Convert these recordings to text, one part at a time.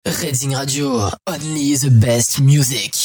Reading Radio, only the best music.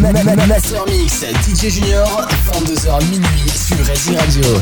Master Mix, DJ Junior, 22h minuit sur Resi Radio.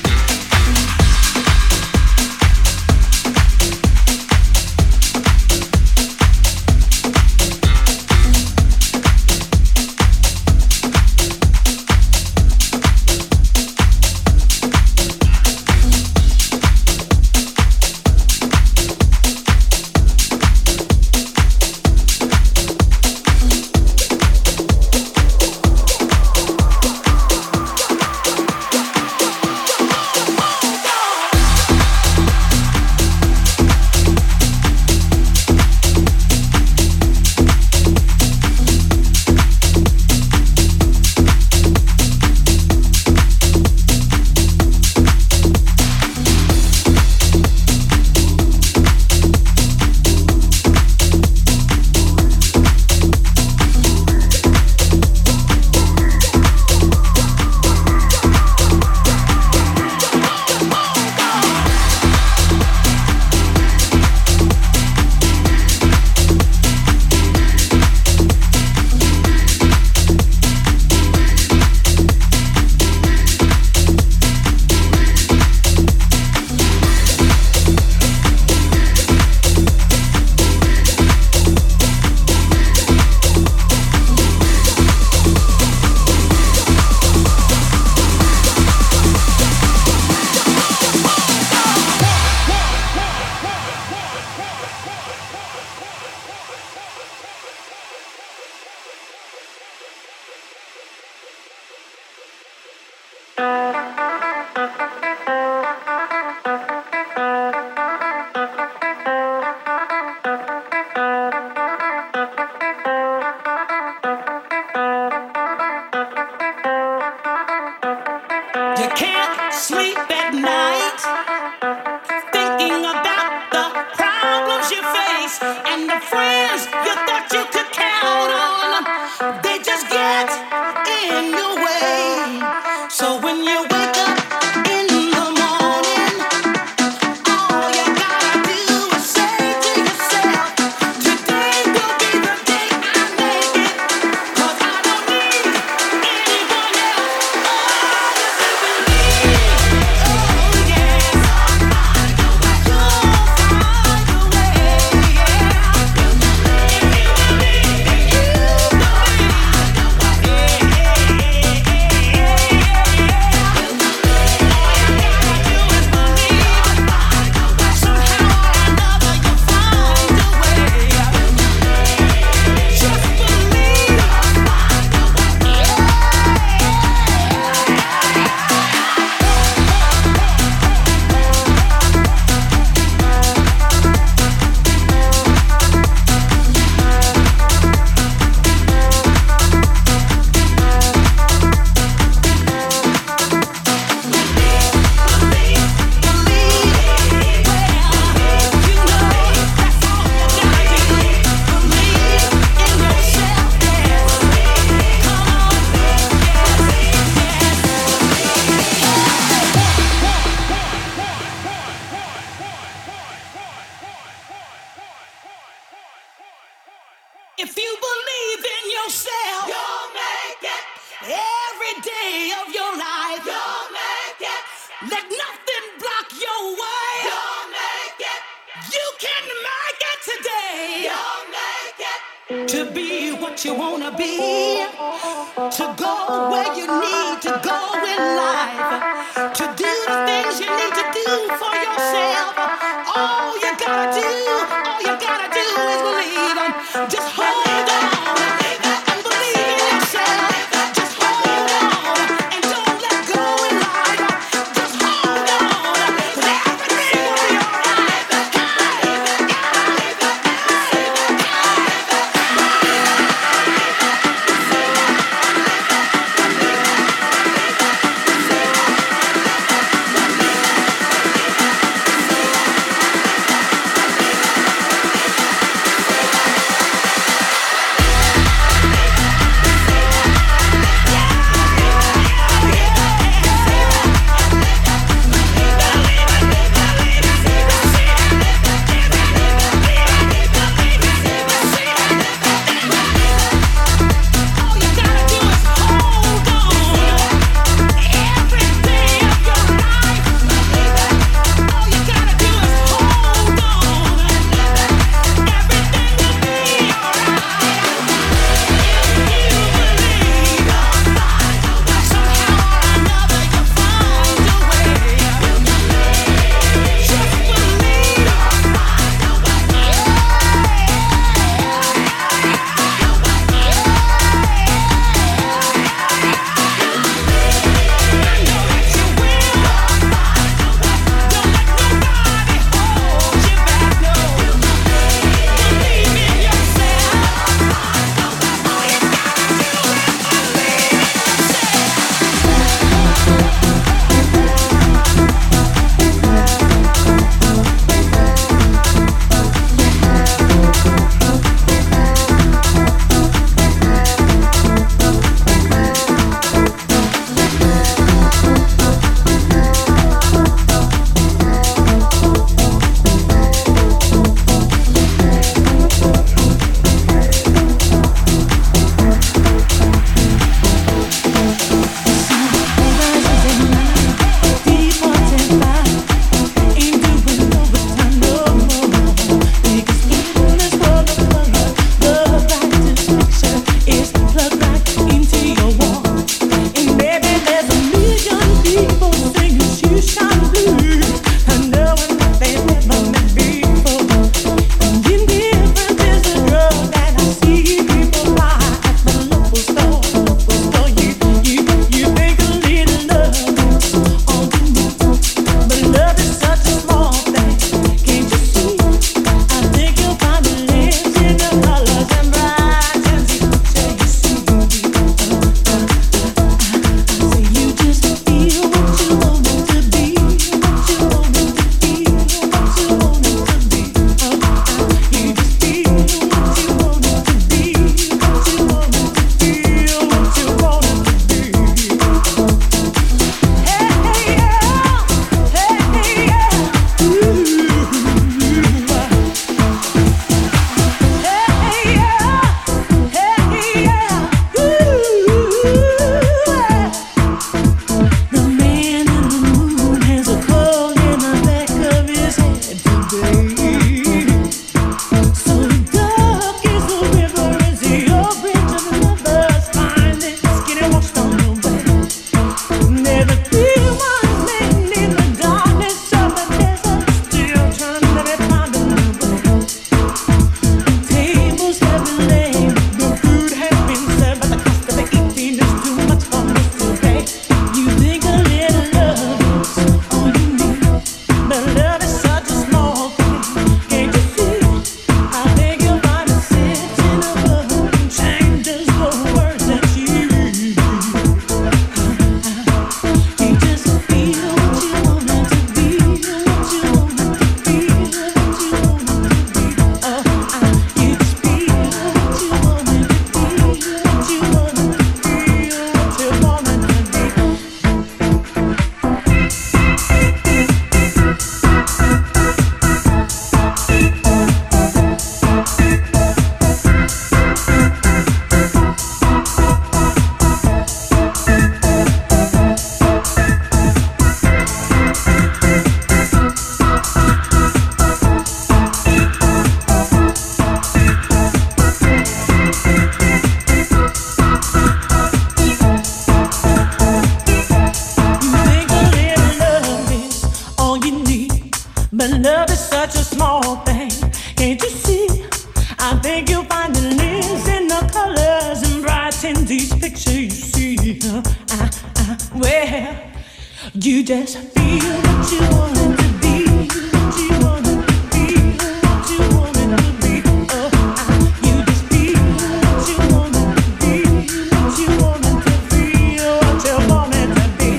I think you'll find the links in the colors and brighten these pictures you see. Well, you just feel what you want to be, what you want to be, what you want to be. Oh, you just feel what you want to be, what you want to feel, what you want to be.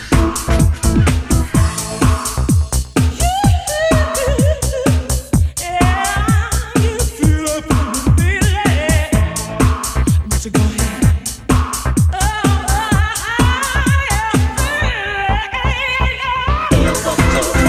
Yeah, you feel it from the feeling, but you go ahead. Fuck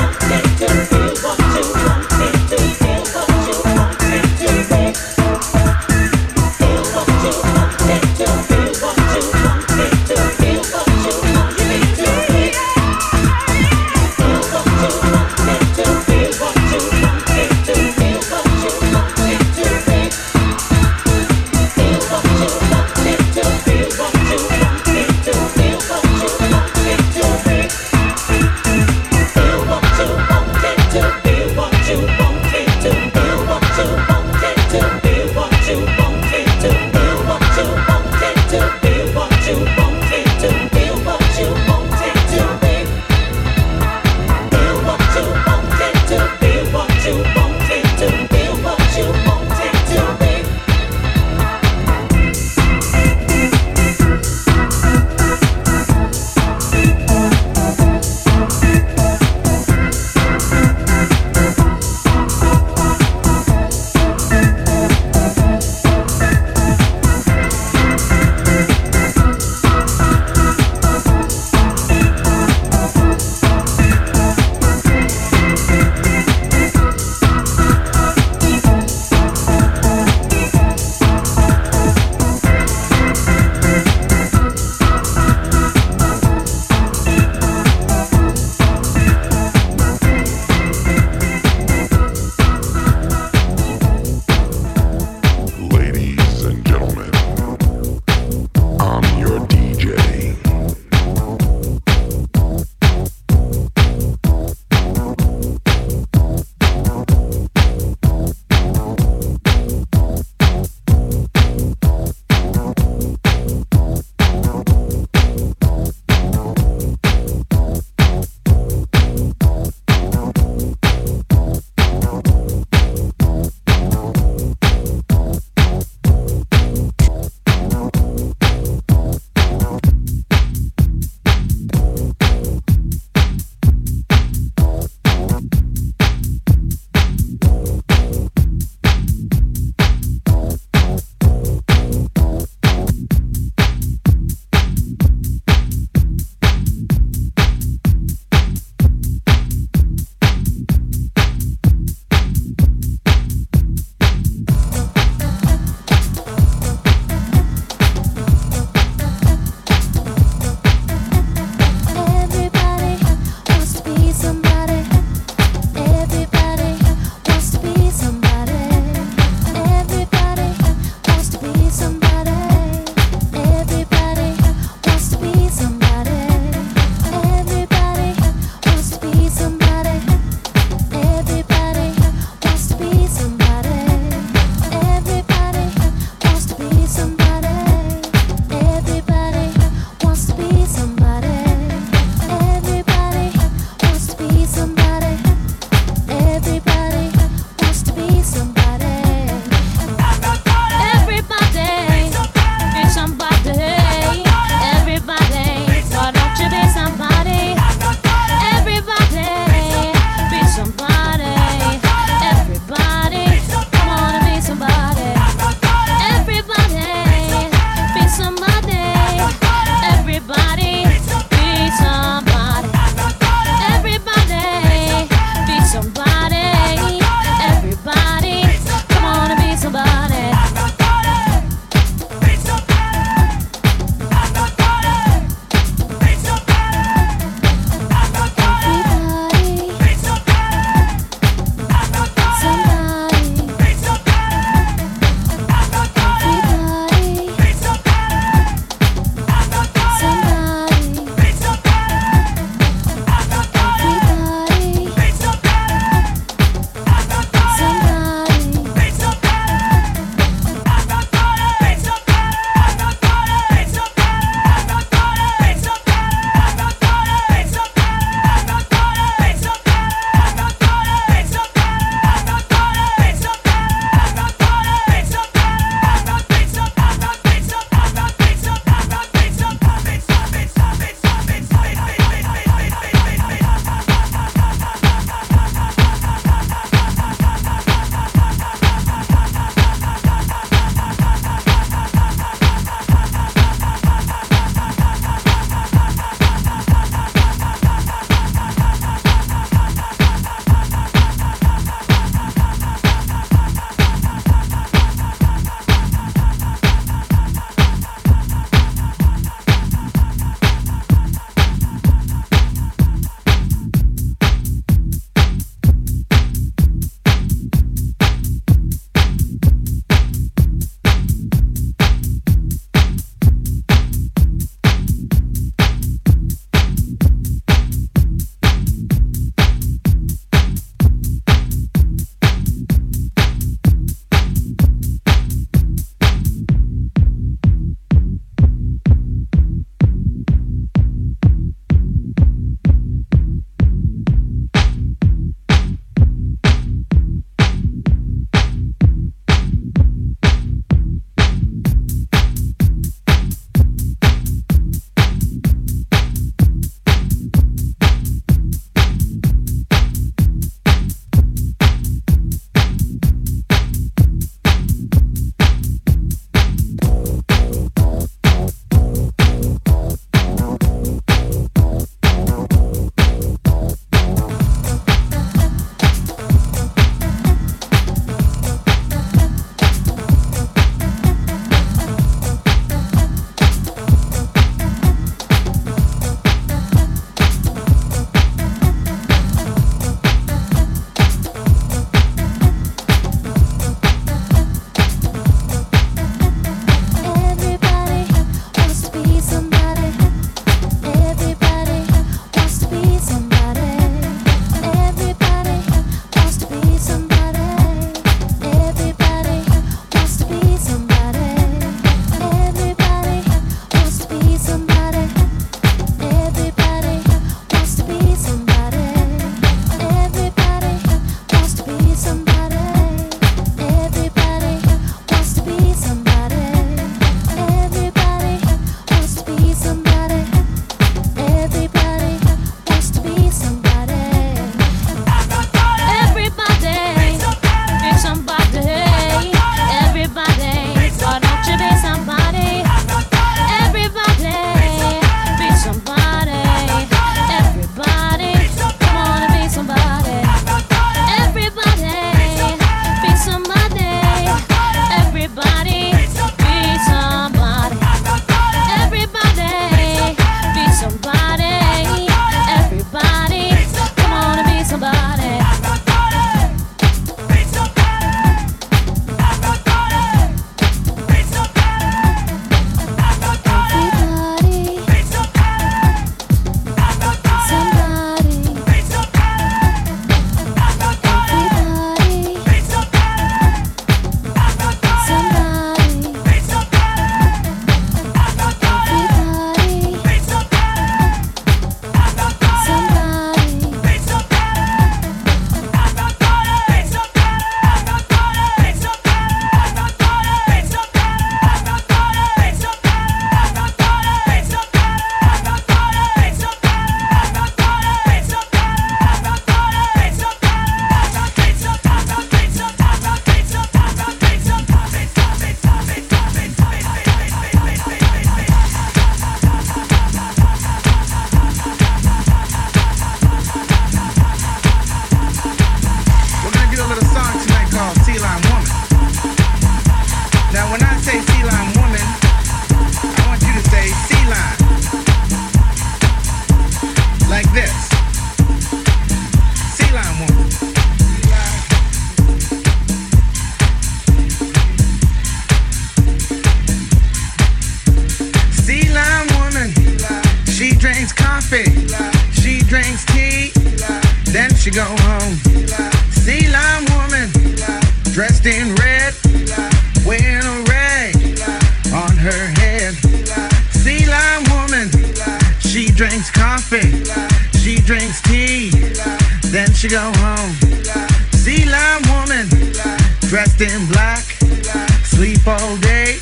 go home. Sea lime woman, dressed in red, wearing a rag on her head. Sea lime woman, she drinks coffee, she drinks tea, then she go home. Sea lime woman, dressed in black, sleep all day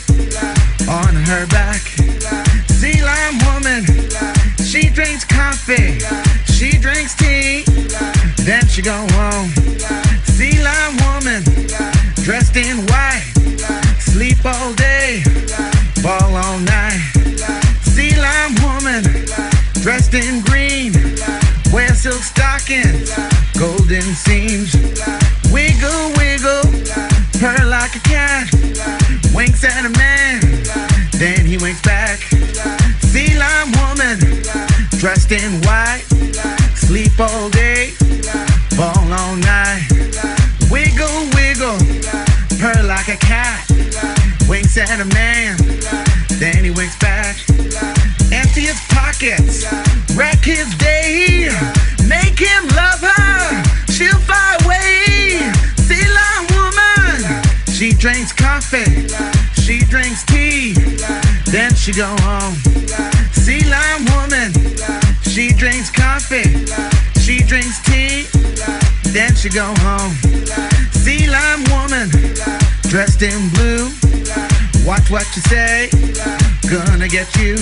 on her back. Sea lime woman, she drinks coffee, she drinks tea, then she go home. Sea lime woman, dressed in white, sleep all day, ball all night. Sea lime woman, dressed in green, wear silk stockings, golden seams. Wiggle, wiggle, purr like a cat, winks at a man, then he winks back. Sea lime woman, dressed in white, sleep all day, ball all night. Wiggle, wiggle, purr like a cat, winks at a man, then he winks back. Empty his pockets, wreck his day, make him love her, she'll fly away. Sea lime woman, she drinks coffee, she drinks tea, then she go home. Sea lime woman, she drinks coffee, she drinks tea, then she go home. Sea lime woman, dressed in blue, watch what you say, gonna get you.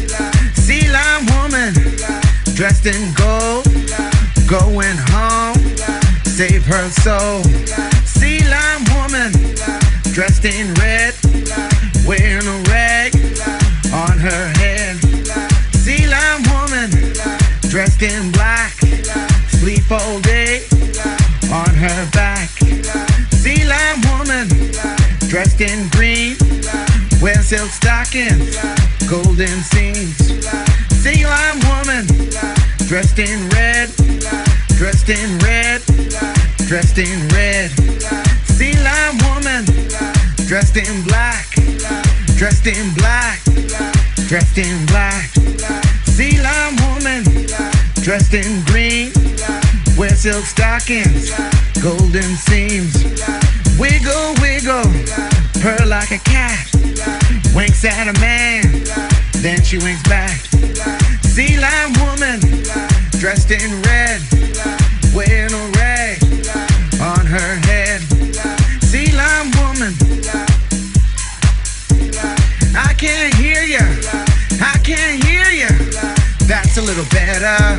Sea lime woman, dressed in gold, going home, save her soul. Sea lime woman, dressed in red, wearing a rag on her head. Sea lime woman, dressed in black, sleep all day on her back. Sea lime woman, dressed in green, wear silk stockings, golden seams. Sea lime woman, dressed in red, dressed in red, dressed in red. Sea lime woman, dressed in black, dressed in black, dressed in black. Sea lime woman, dressed in green, wear silk stockings, golden seams. Wiggle, wiggle, purr like a cat, winks at a man, then she winks back. Sea lime woman, dressed in red, wearing a rag on her head. Sea lime woman, I can't hear ya, I can't hear ya, that's a little better.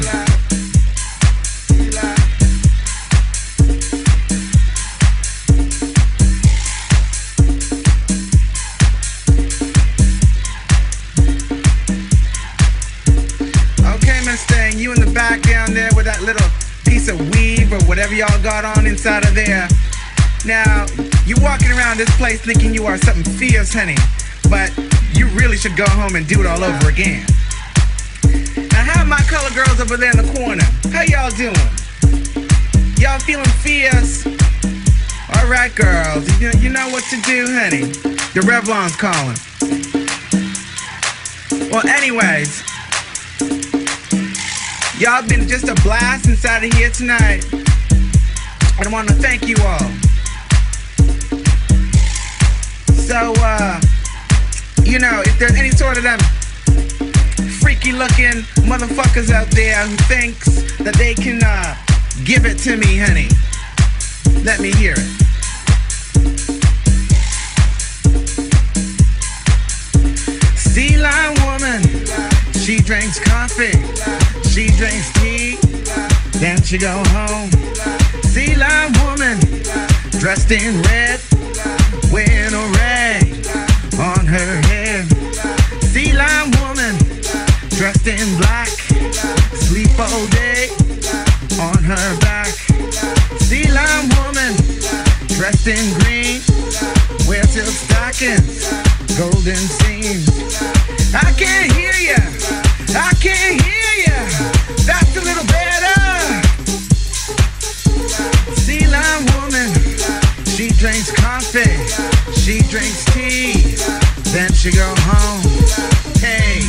You in the back down there with that little piece of weave or whatever y'all got on inside of there. Now, you walking around this place thinking you are something fierce, honey, but you really should go home and do it all over again. Now, how are my color girls over there in the corner? How y'all doing? Y'all feeling fierce? All right, girls, you know what to do, honey. The Revlon's calling. Well, anyways, y'all been just a blast inside of here tonight. I want to thank you all. So, you know, if there's any sort of them freaky looking motherfuckers out there who thinks that they can give it to me, honey, let me hear it. Sea lime woman, she drinks coffee, she drinks tea, then she go home. Sea lime woman, dressed in red, wearing a rag on her head. Sea lime woman, dressed in black, sleep all day on her back. Sea lime woman, dressed in green, wear silk stockings, golden seams. I can't hear ya, I can't hear ya, that's a little better. Sea lime woman, she drinks coffee, she drinks tea, then she go home. Hey.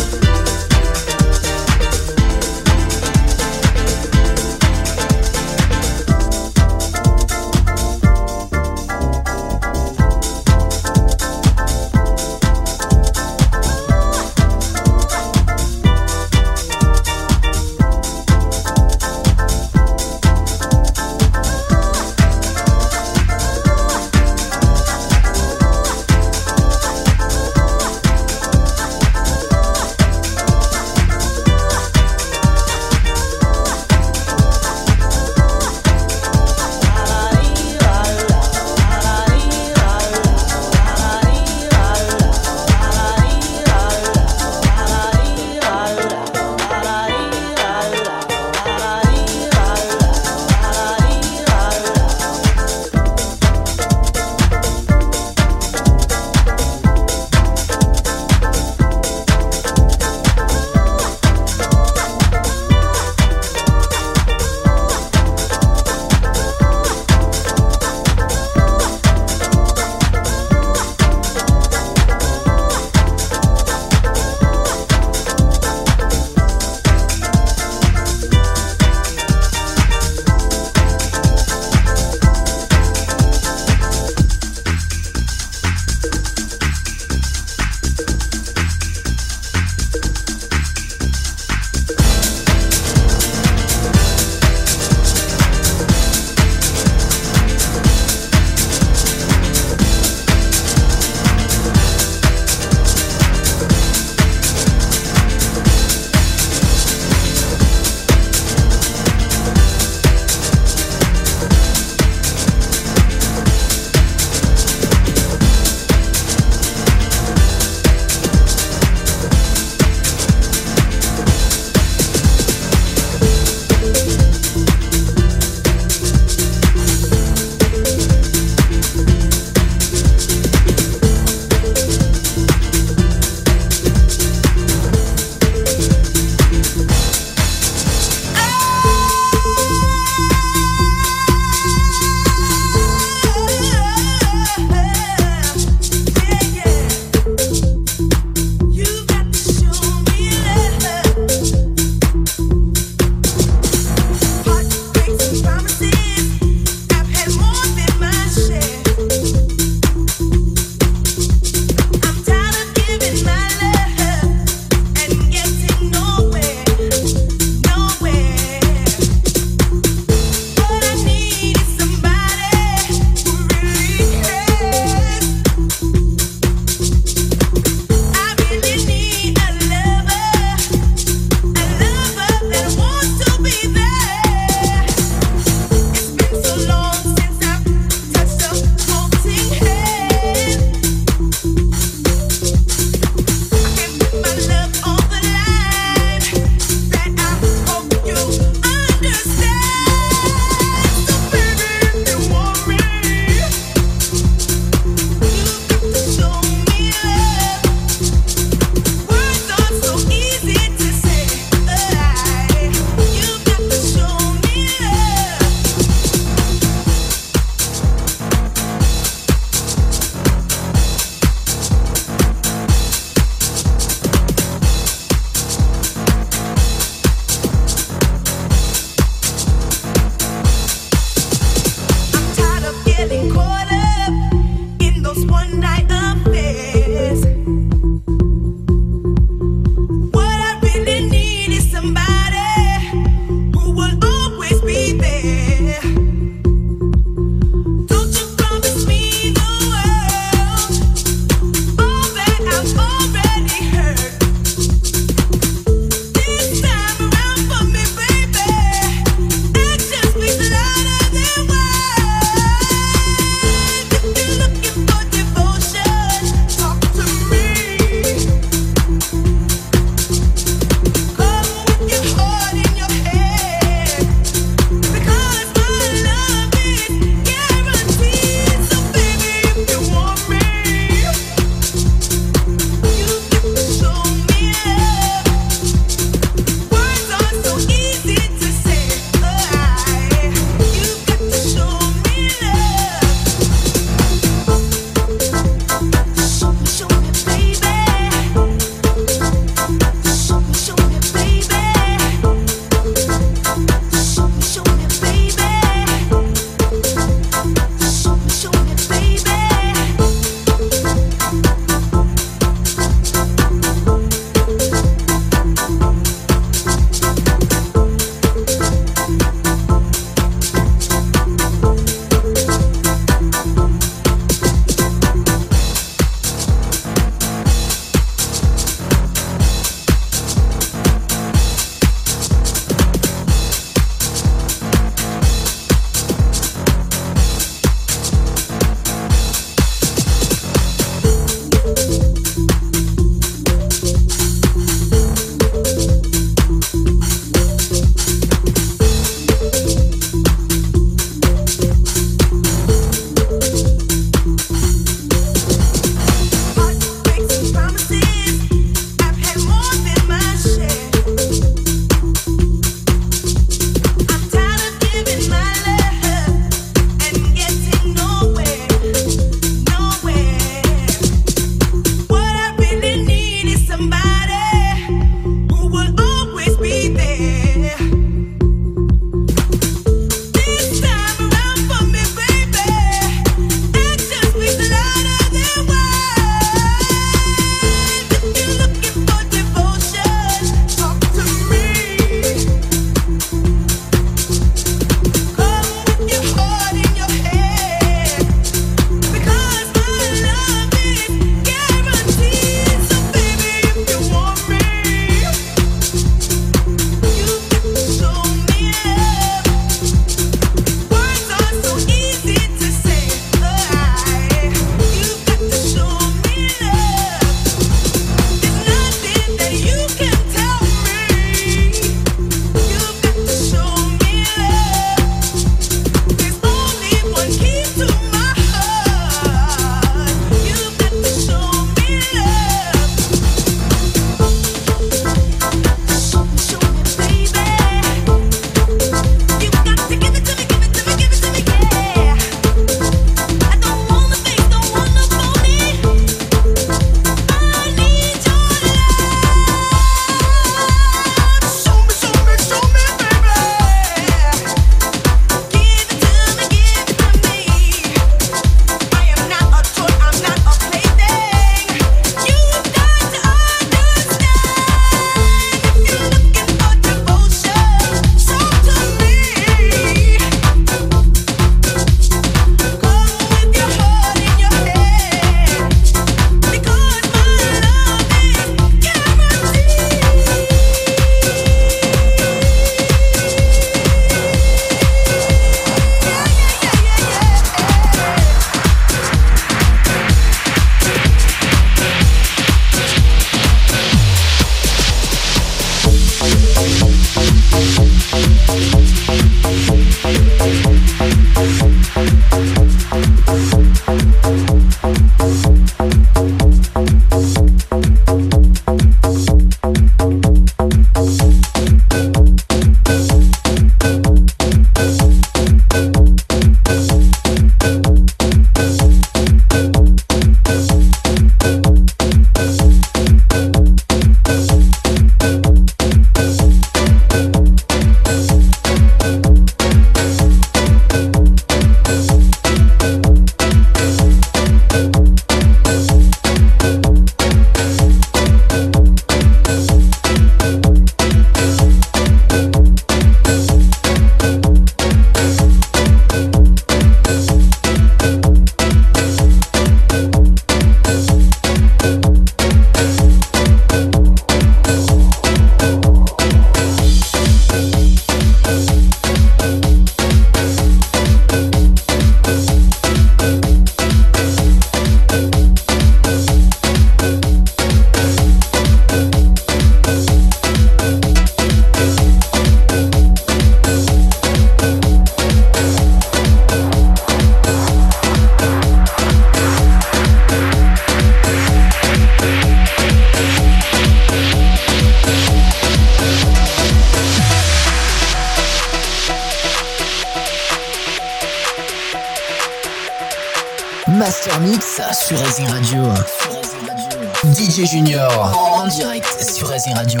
Master Mix sur Racing Radio. DJ Junior en direct sur Racing Radio.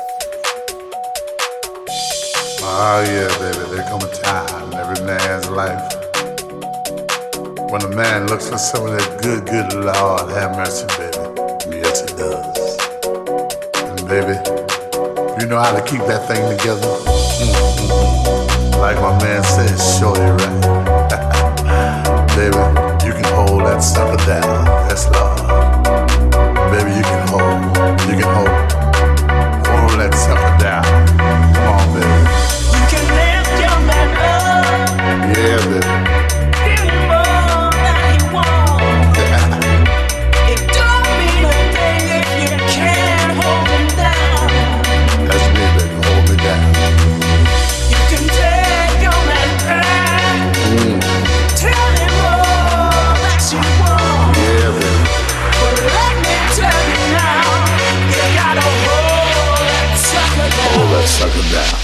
Oh yeah, baby, there come a time in every man's life when a man looks for some of that good, good Lord, have mercy, baby. Yes, it does. And baby, you know how to keep that thing together. Like my man says, sure you're right. Baby, you can hold that sucker down. Yes, Lord. Baby, you can hold that sucker down. Come on, baby. You can lift your man up. Yeah, baby. Give him more than he wants. It don't mean a thing if you can't hold him down. That's me, baby. Hold me down. You can take your man back. Tell him all that you want. Yeah, baby. But let me tell you now, you gotta hold that sucker down. Hold that sucker down.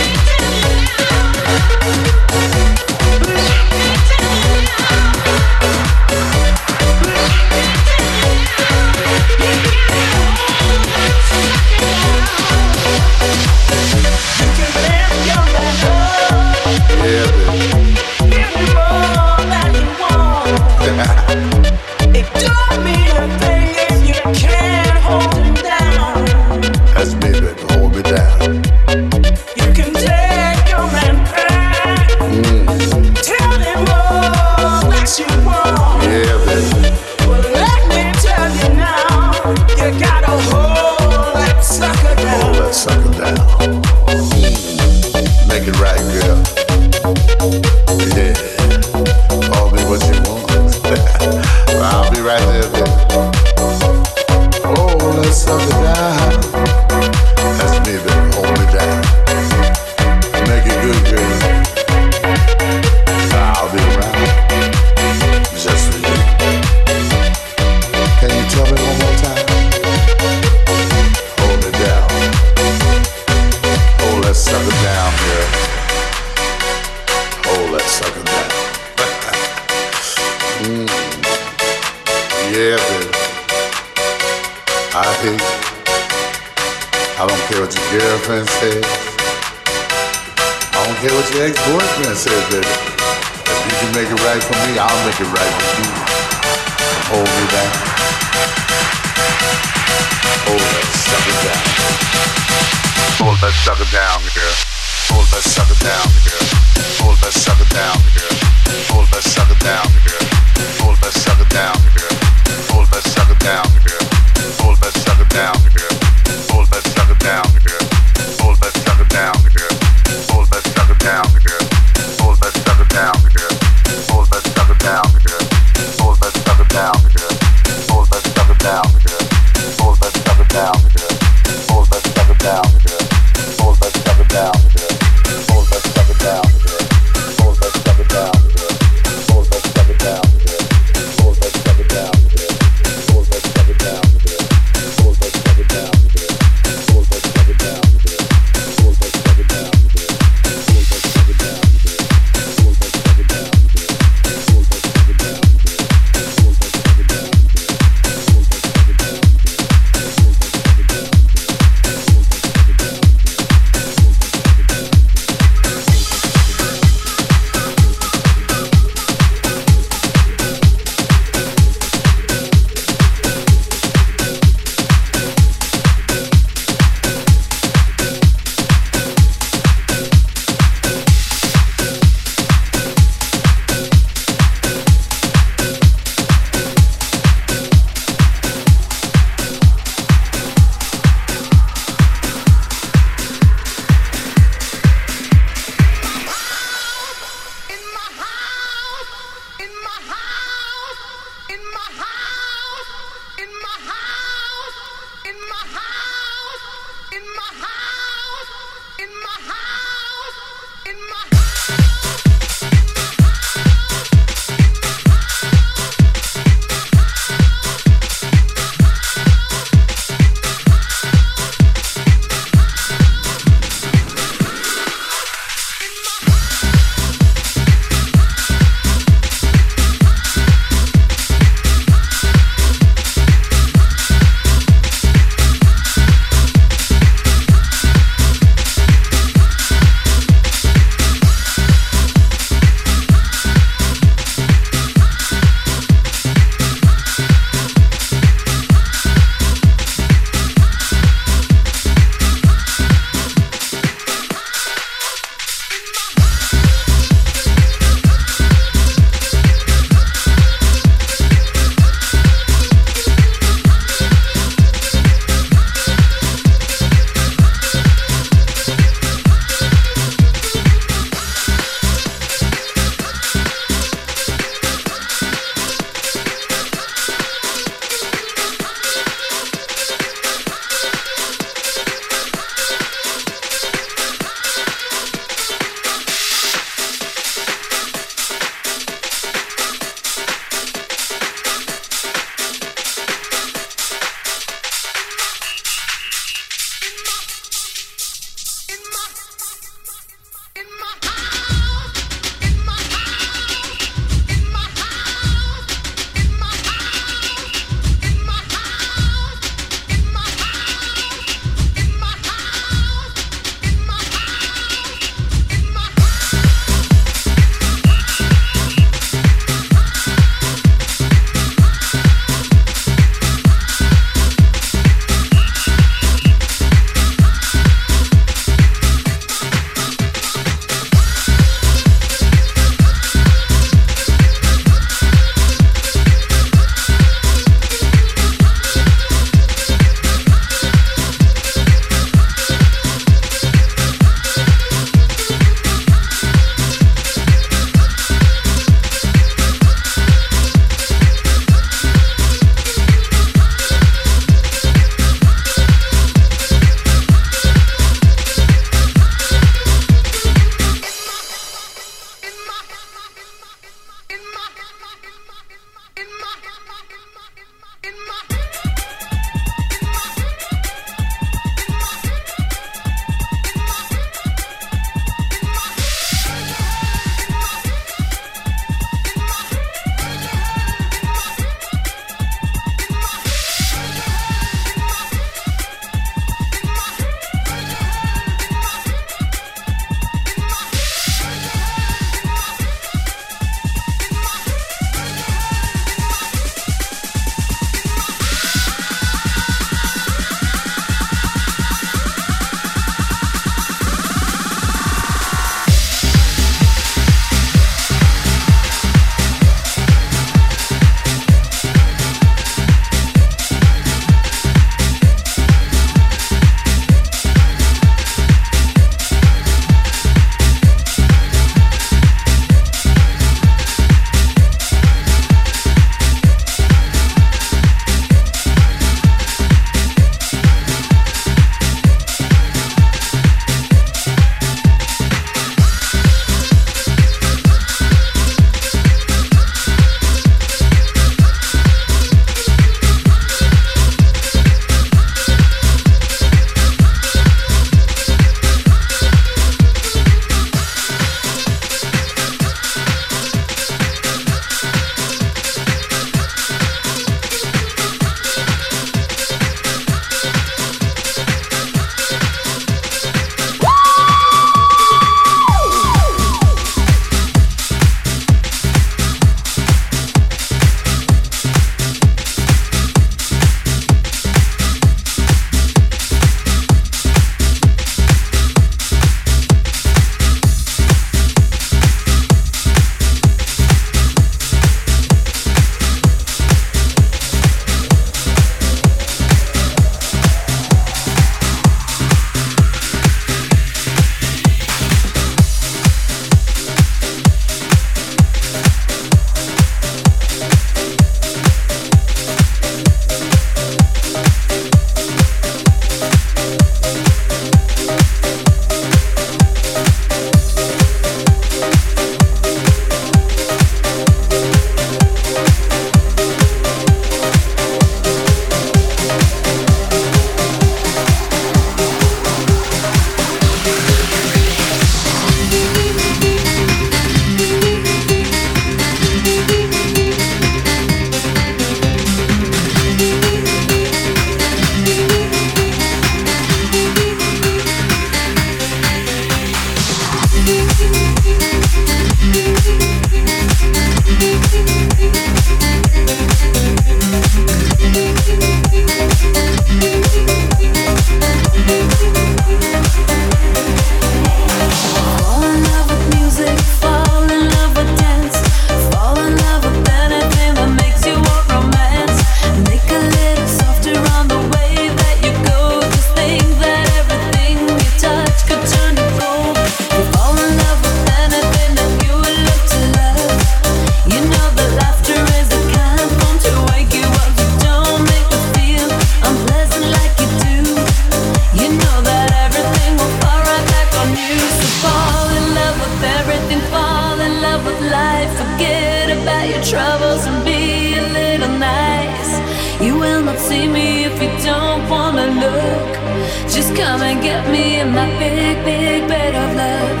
life. Forget about your troubles and be a little nice. You will not see me if you don't wanna look. Just come and get me in my big, big bed of love.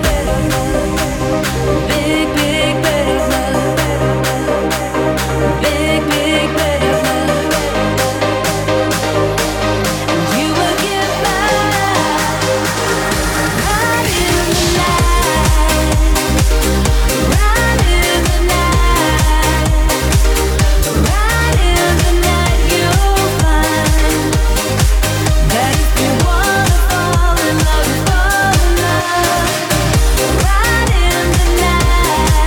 Big, big bed of love. Big, big bed of love. And you will get by right in the night. Right in the night. Right in the night. You'll find that if you wanna fall in love, fall in love. Right in the night.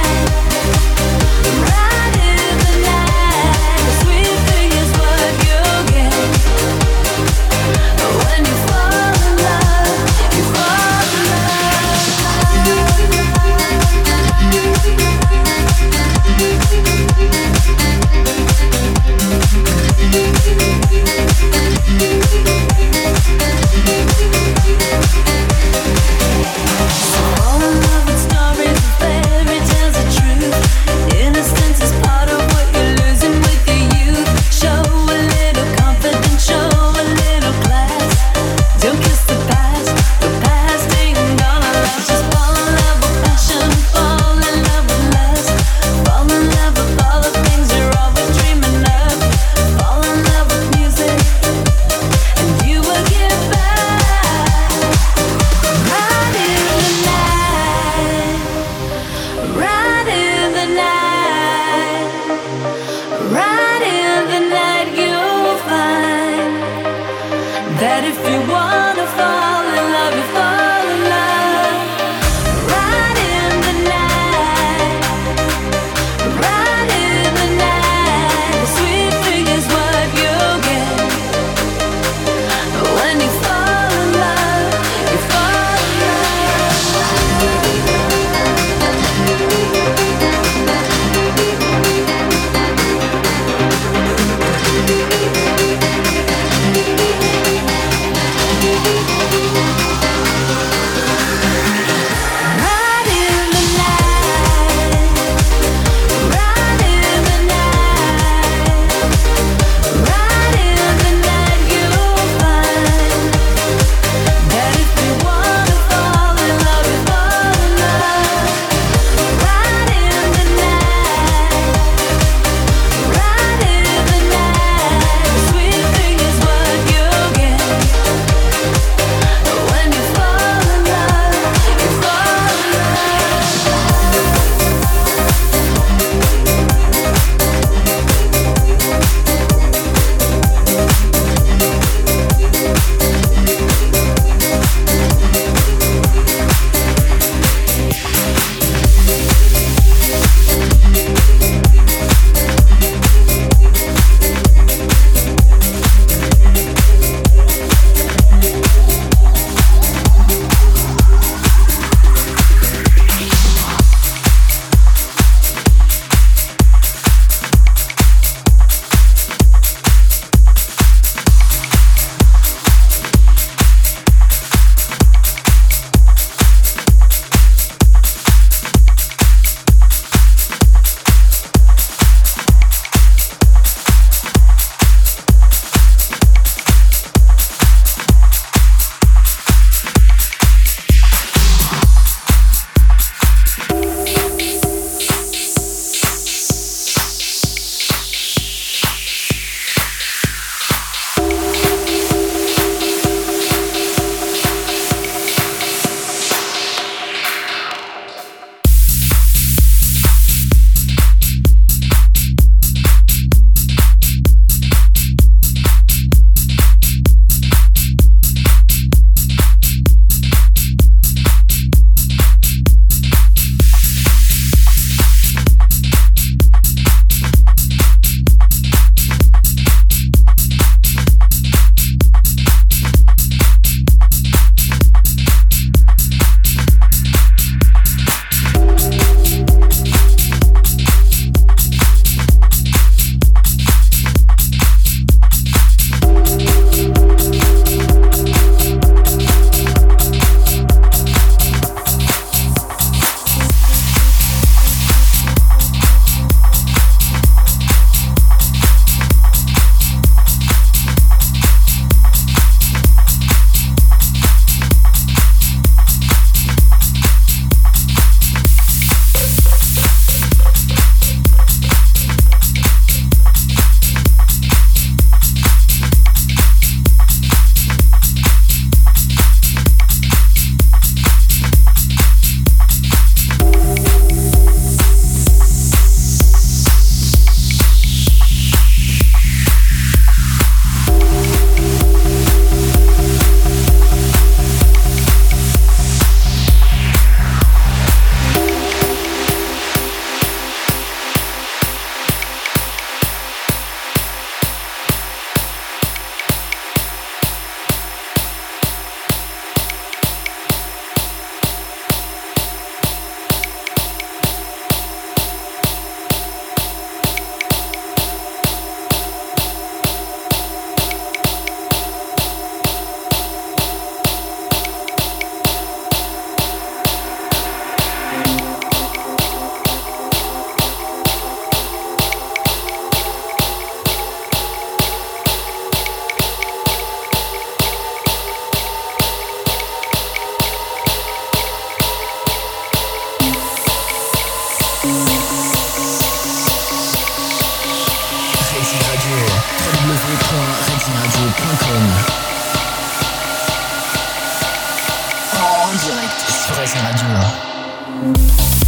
Furazi Radio.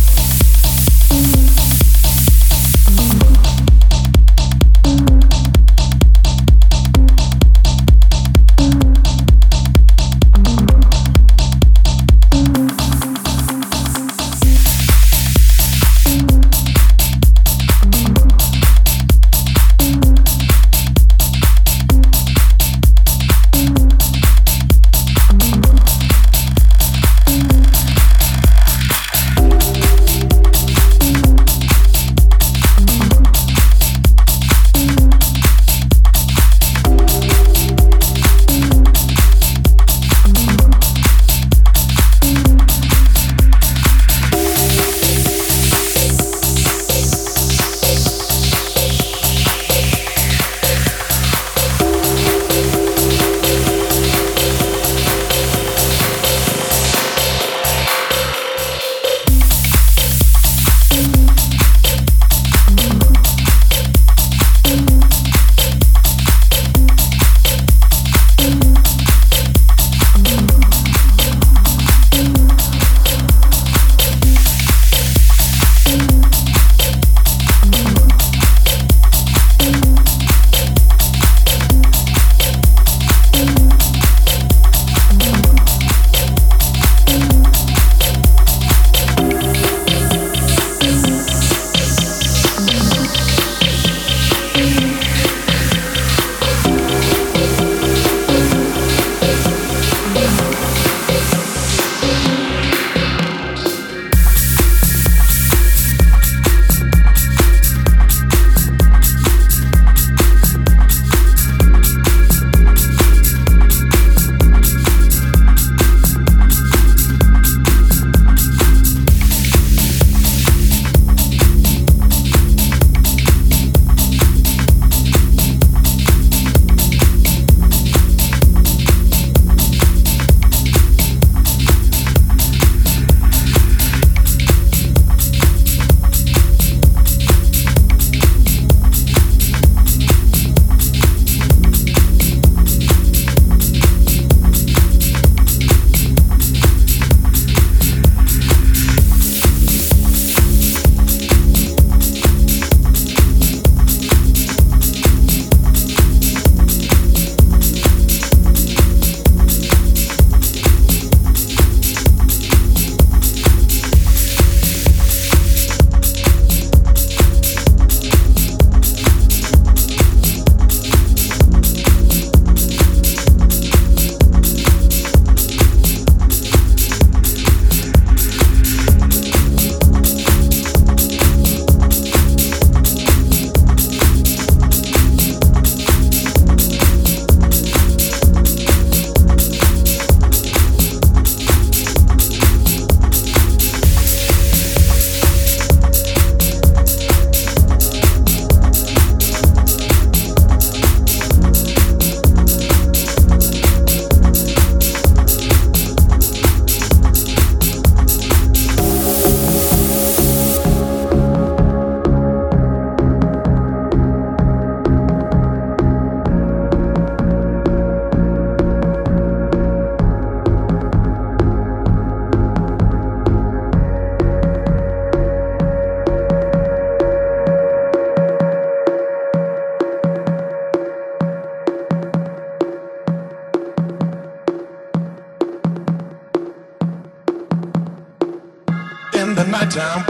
nighttime,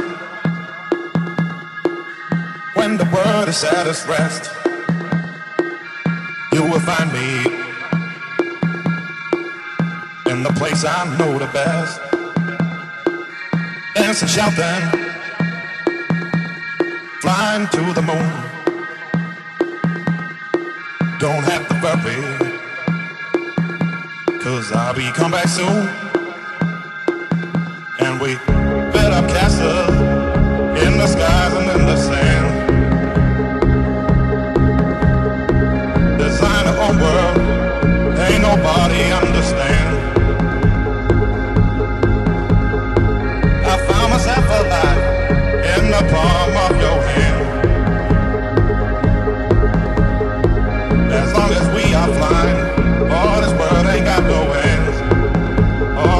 when the world is at its rest, you will find me in the place I know the best. Dancing, shouting, flying to the moon. Don't have to worry, 'cause I'll be come back soon. And we build up castles in the skies and in the sand. Design our own world, ain't nobody understand. I found myself alive in the palm of your hand. As long as we are flying, all this world ain't got no ends.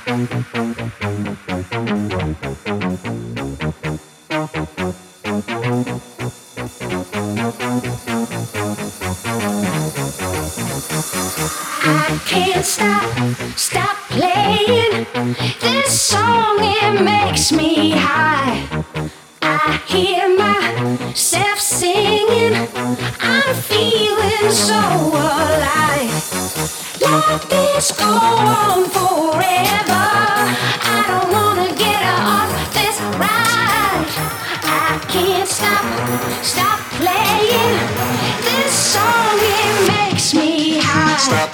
I can't stop playing this song, it makes me high. I hear myself singing, I'm feeling so alive. Let this go on forever, I don't wanna get off this ride. I can't stop playing this song, it makes me high. Stop.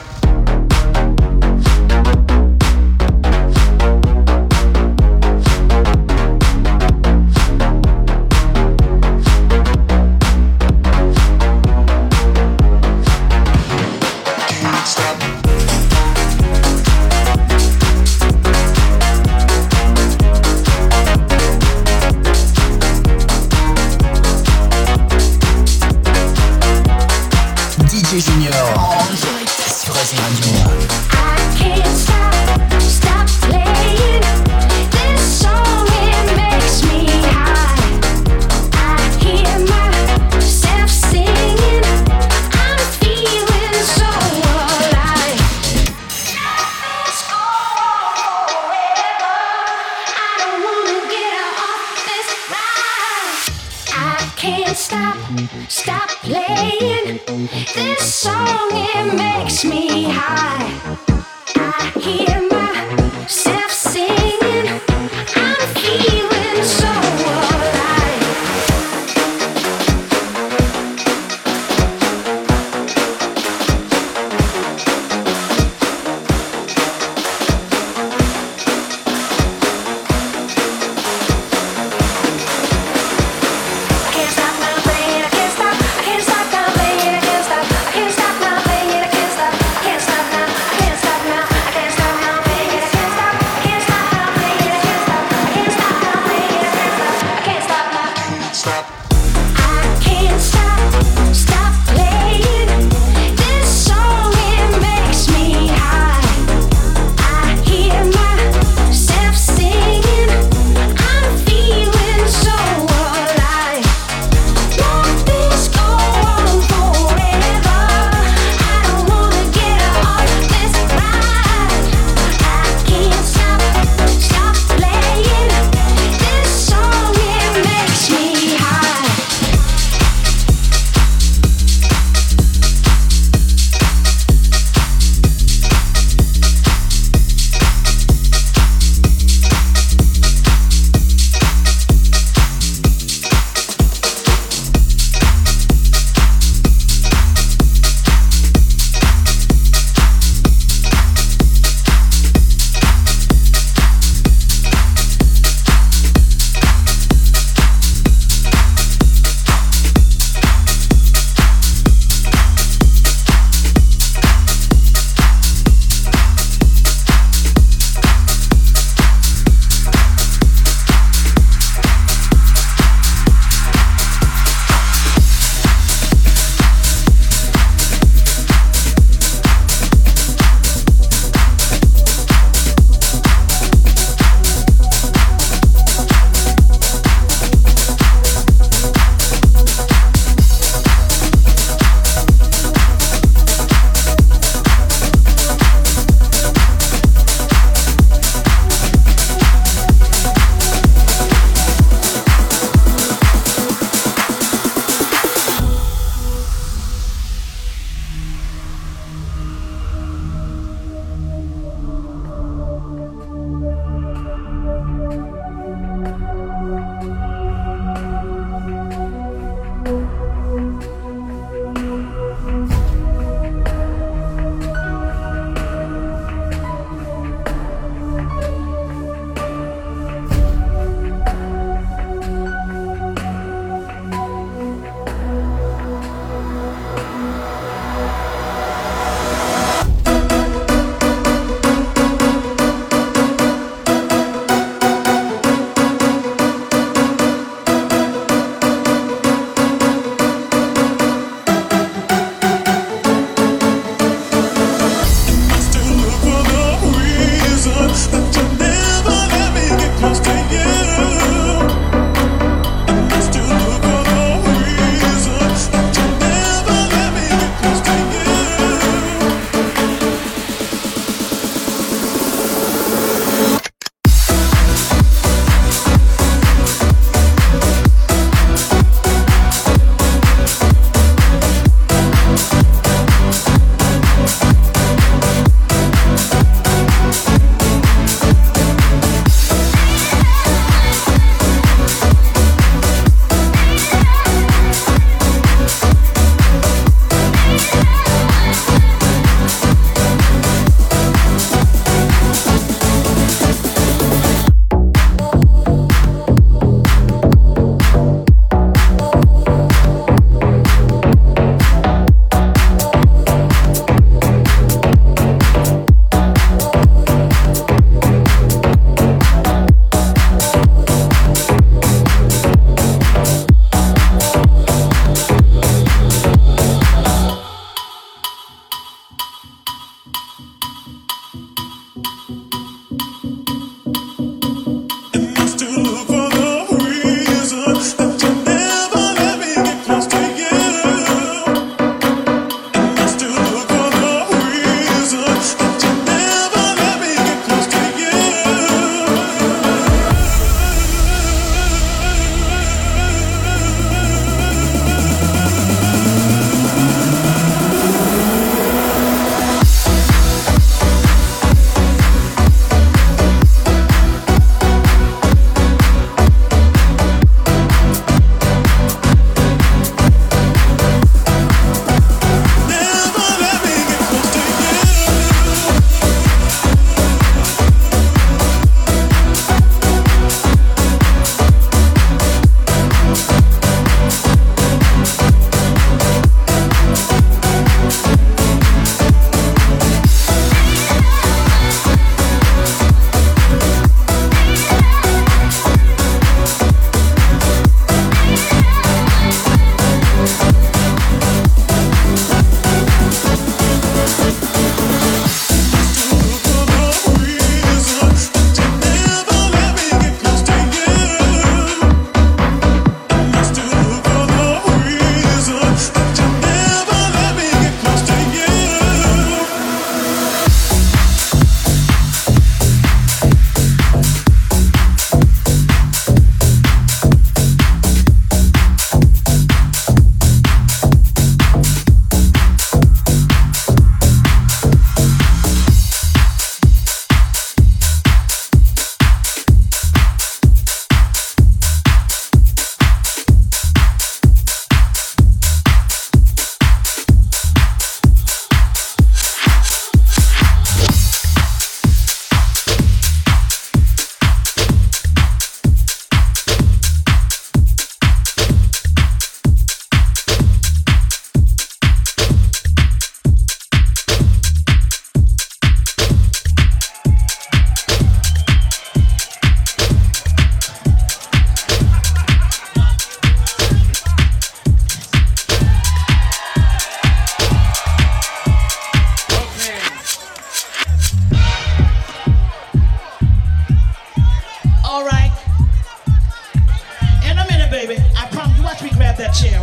DJ Junior en direct sur Racing Radio. I can't stop playing this song, it makes me high. I hear myself singing, I'm feeling so alive. Let's go on forever, I don't wanna get off this ride. I can't stop playing this song, it makes me high. I hear myself singing, I'm feeling so alive. I can't stop now playing, I can't stop now playing, I can't stop now playing, I can't stop now, I can't stop now, I can't stop now, I can't stop now.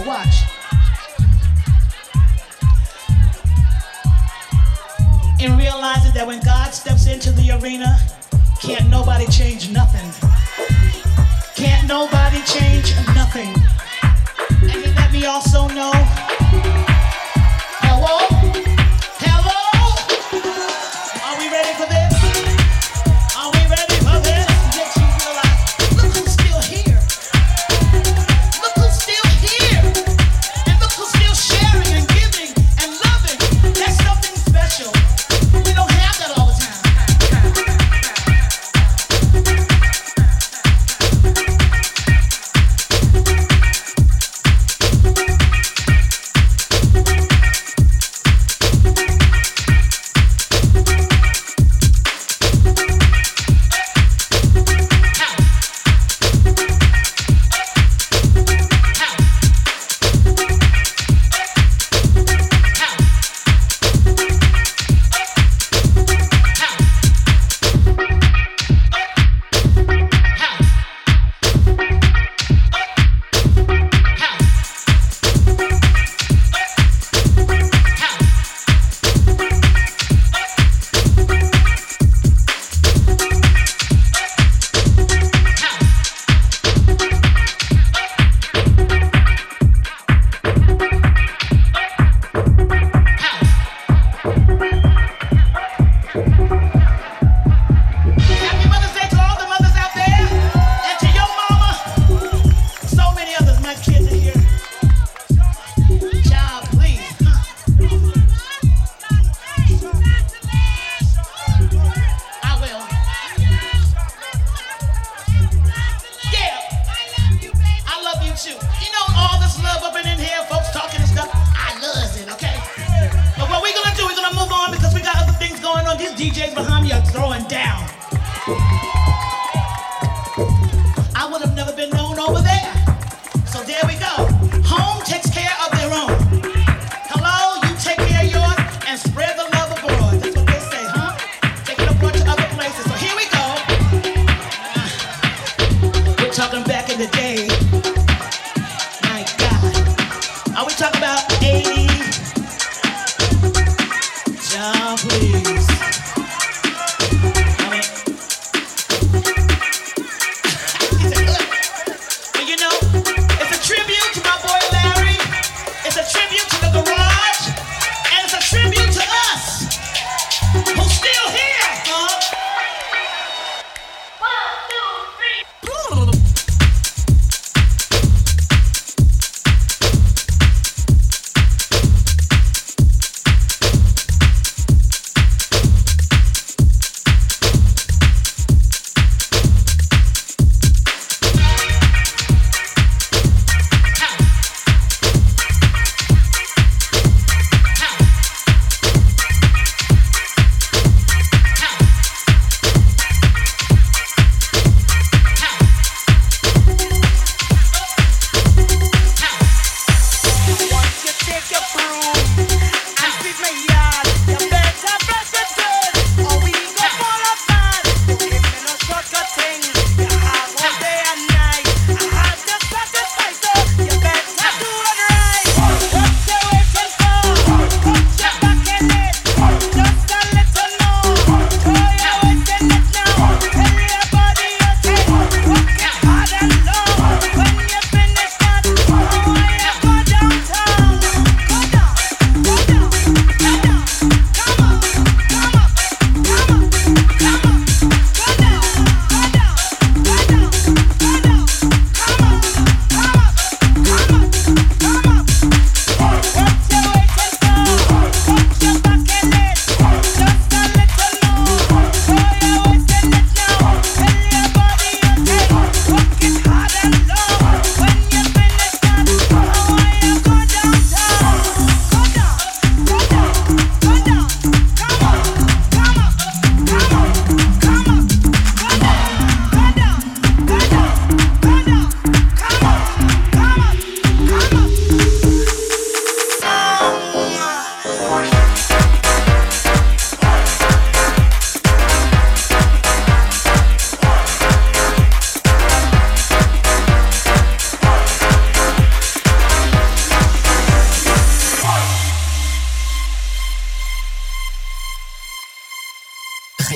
watch. And realizing that when God steps into the arena, can't nobody change nothing. Can't nobody change nothing. And you let me also know, hello? Hello? Are we ready for this? Are we ready for this? Get you realize, look who's still here. Look who's still here. And look who's still sharing and giving and loving. That's something special. We don't have that all the time.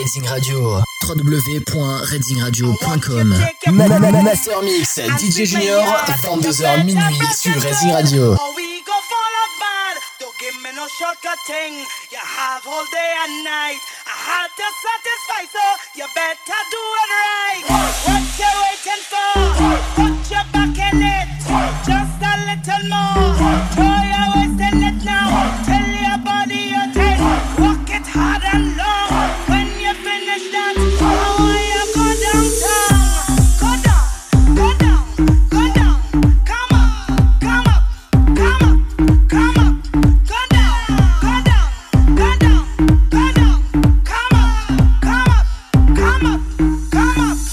Redding Radio. www.reddingradio.com. Master Mix, DJ Junior, 22h minuit sur Redding Radio. Give me no shortcut thing. You have all day and night. I had to satisfy, so you better do it right. What you waiting for? Put your back in it. Just a little more. Throw your waist in it now. Tell your body you're tight. Walk it hard and long. When you finish that, I want you go downtown. Go down, go down, go down. Come up, come up, come up, come up. Come up,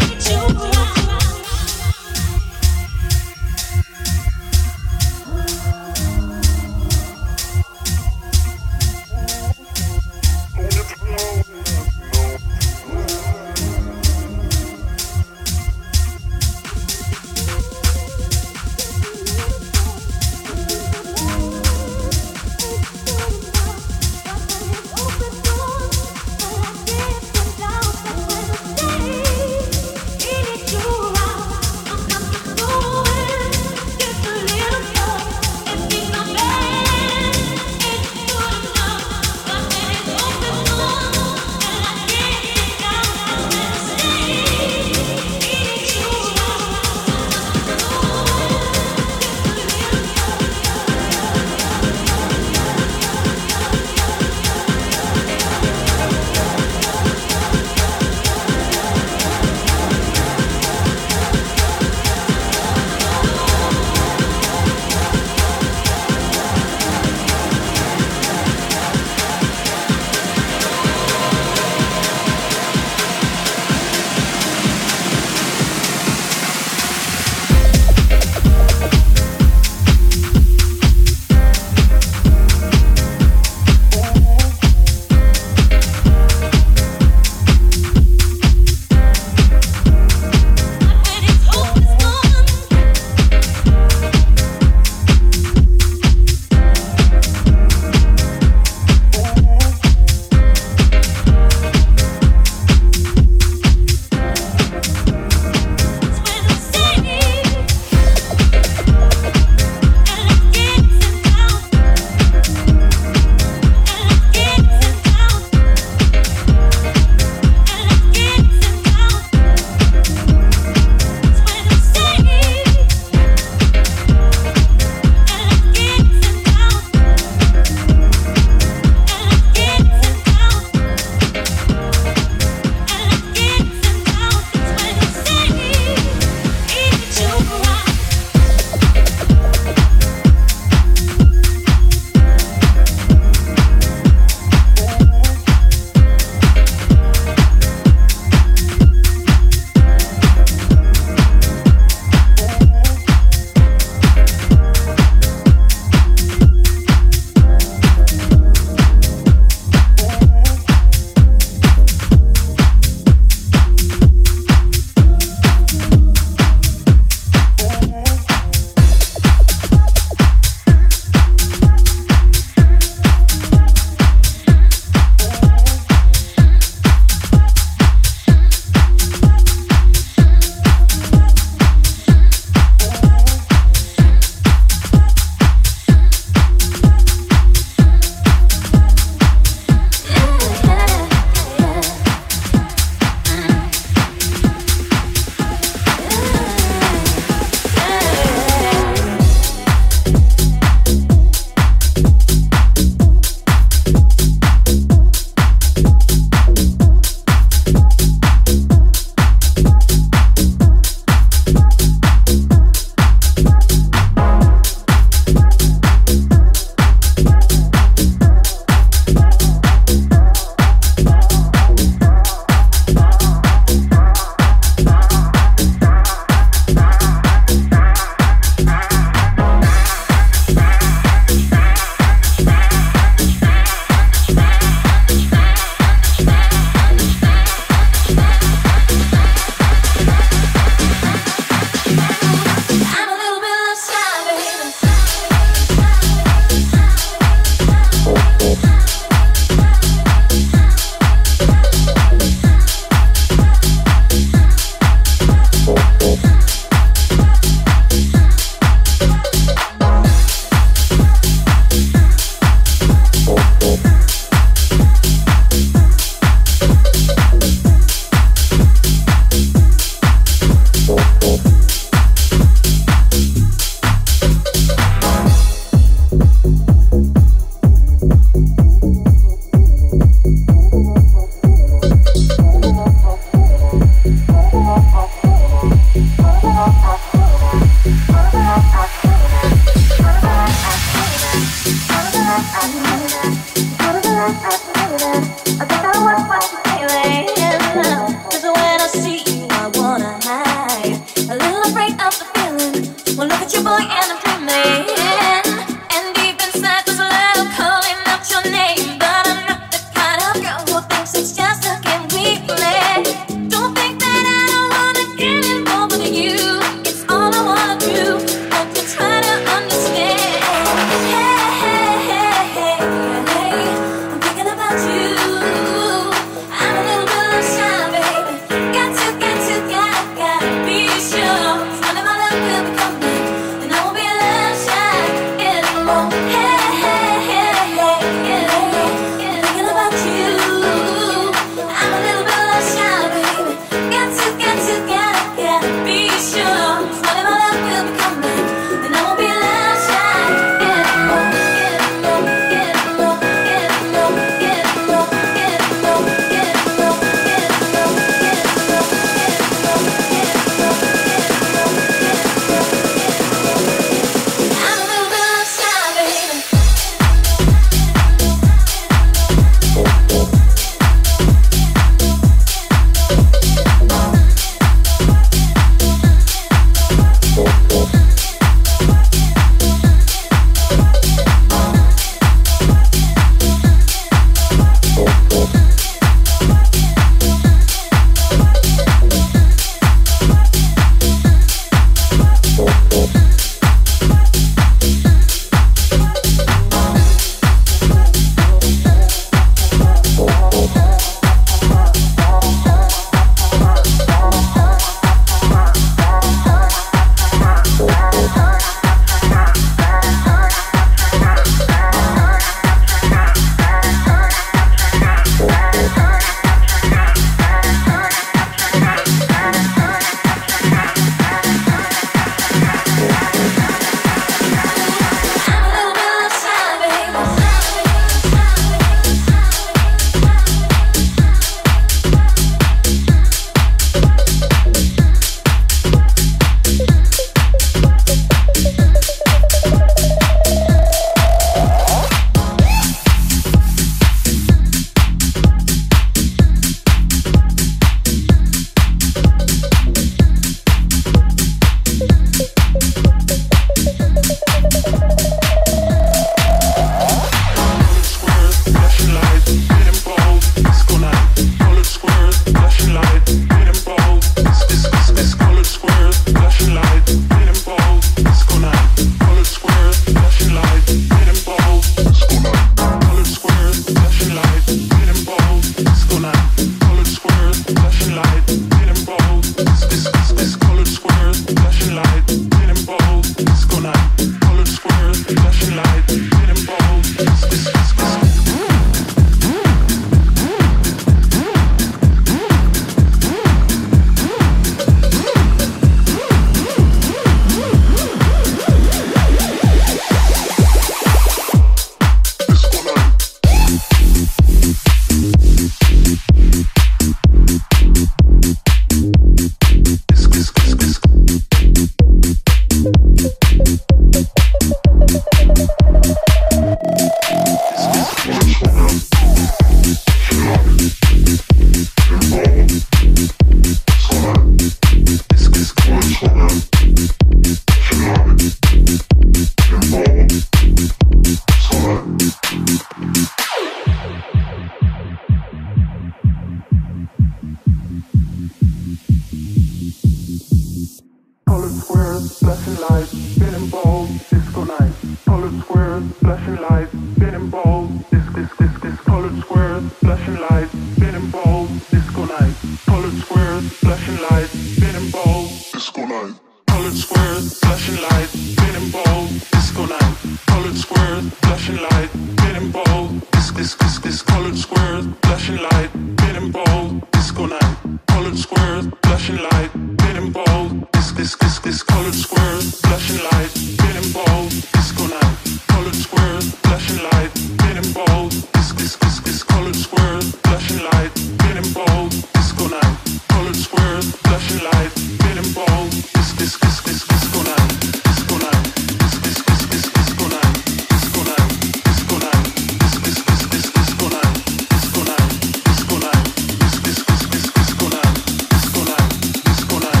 squares, flashing lights, spinning balls, disco night. Colored squares, flashing lights, spinning balls, colored squares, flashing lights, spinning balls, disco night. Colored squares, flashing lights, spinning balls, disco night. Colored squares, flashing lights, spinning balls, disco night. Colored squares, flashing lights, spinning balls, colored squares, flashing lights, spinning balls, disco night. Colored squares, flashing lights, spinning balls, colored squares, flashing lights, spinning balls, disco night. Colored squares, flashing lights, spinning balls, colored squares, flashing lights, spinning balls, disco night. Colored squares, flashing lights, spinning balls, disco night, disco night, disco night, disco night, disco night, disco night, disco night, disco night, disco night, disco night, disco night,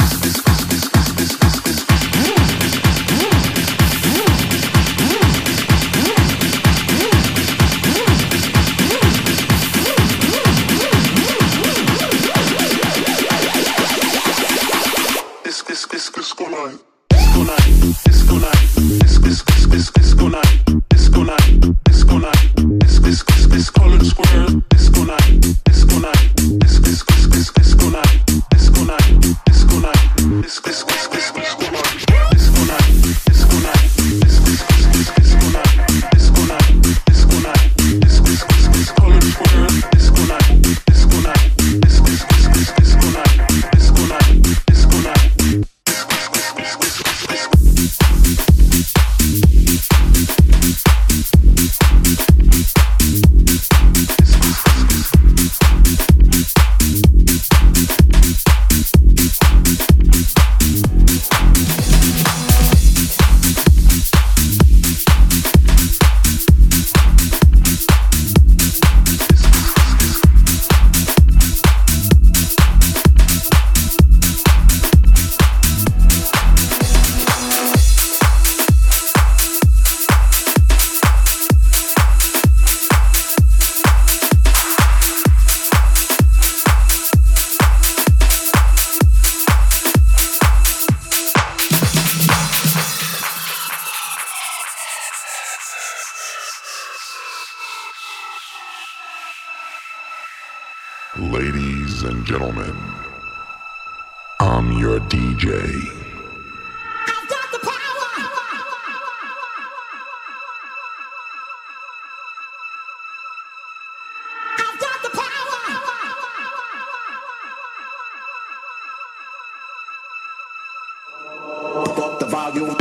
Ladies and gentlemen, I'm your DJ. I've got the power. I've got the power. Up the volume.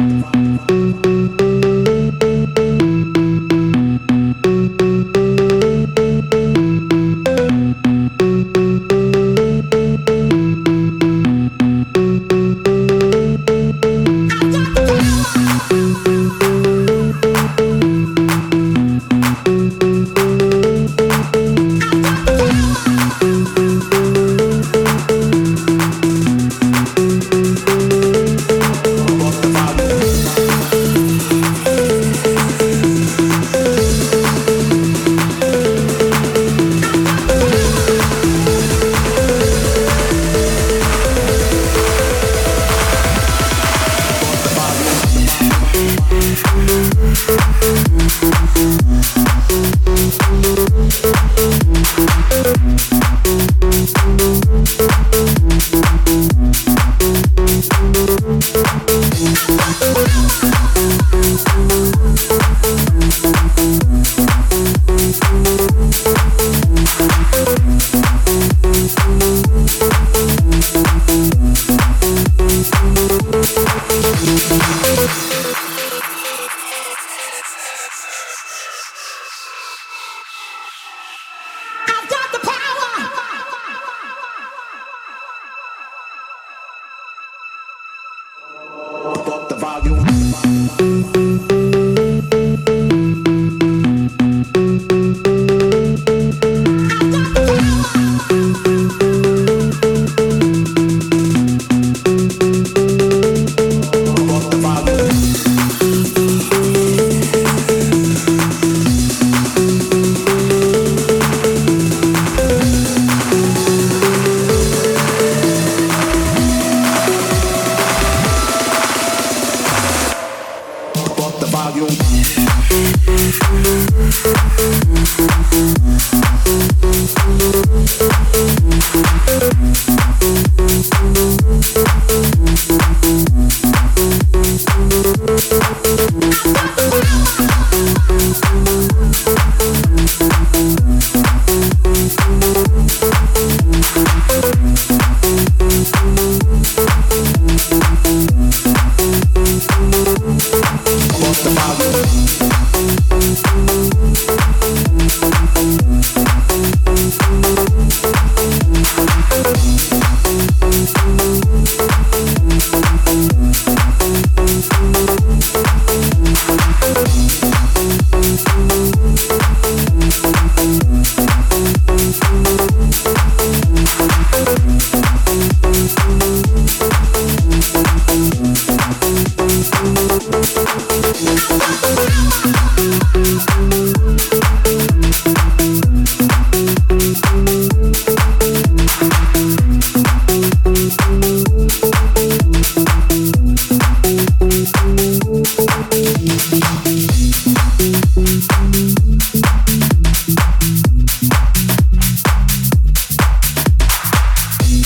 Up the volume.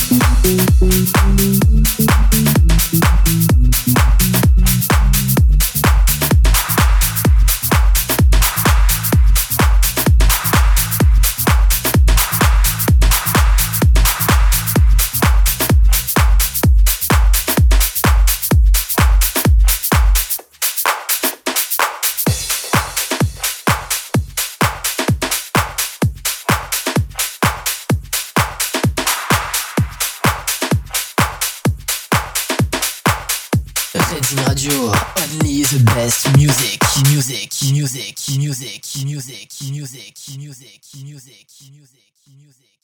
Reading Radio, only the best music, music, music, music, music, music, music, music, music, music.